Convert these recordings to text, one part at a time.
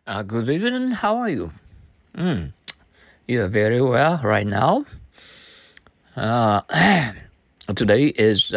Good evening. How are you? Mm, you are very well right now. Uh, Today is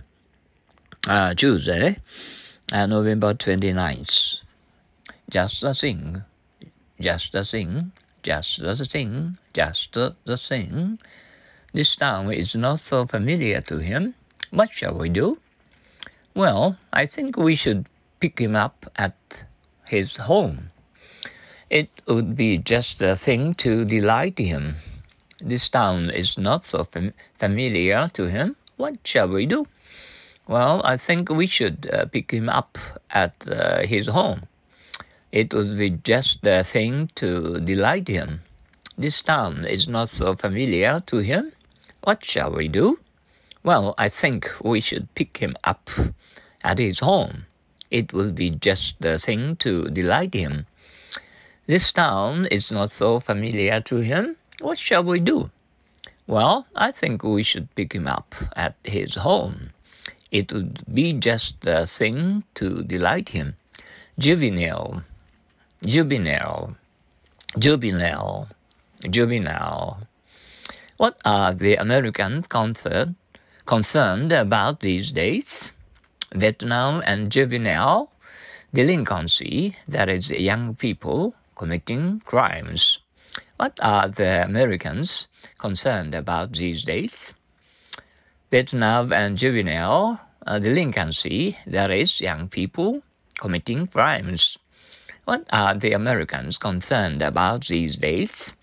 Tuesday, November 29th. Just the thing, just the thing, just the thing, just the thing. This town is not so familiar to him. What shall we do? Well, I think we should pick him up at his home. It would be just the thing to delight him. This town is not so familiar to him. What shall we do? Well, I think we should pick him up at his home. It would be just the thing to delight him. This town is not so familiar to him. What shall we do? Well, I think we should pick him up at his home. It will be just the thing to delight him. This town is not so familiar to him. What shall we do? Well, I think we should pick him up at his home. It would be just the thing to delight him. Juvenile, juvenile, juvenile, juvenile. What are the Americans concerned about these days? Vietnam and juvenile delinquency, that is, young people committing crimes. What are the Americans concerned about these days? Vietnam and juvenile delinquency, that is, young people committing crimes. What are the Americans concerned about these days?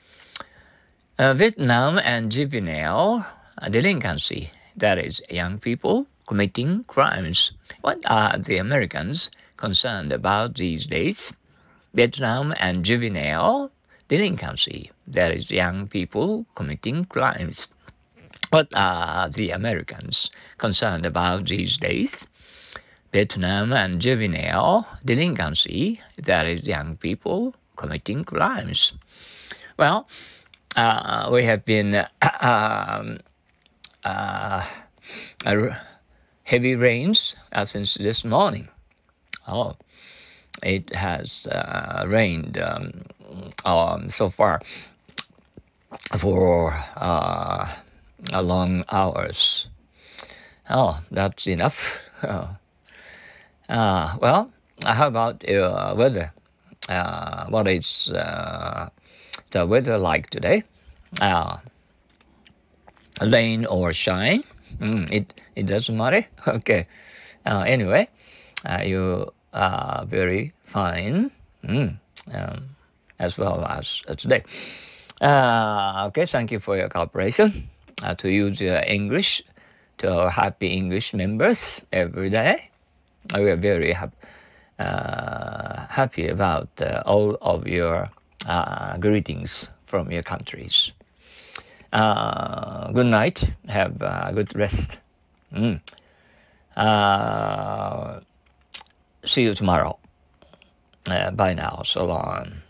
Vietnam and juvenile delinquency, that is, young people committing crimes. What are the Americans concerned about these days? Vietnam and juvenile delinquency, that is, young people committing crimes. What are the Americans concerned about these days? Vietnam and juvenile delinquency, that is, young people committing crimes. Well, we have been heavy rains since this morning. Oh, it has rained so far for long hours. Oh, that's enough. Well, how about weather? What is the weather like today? Rain or shine? It doesn't matter. Okay. Anyway, you are very fine as well as today. Okay, thank you for your cooperation to use English to our Happy English members every day. We are very happy about all of your greetings from your countries. Good night. Have a good rest. See you tomorrow. Bye now. So long.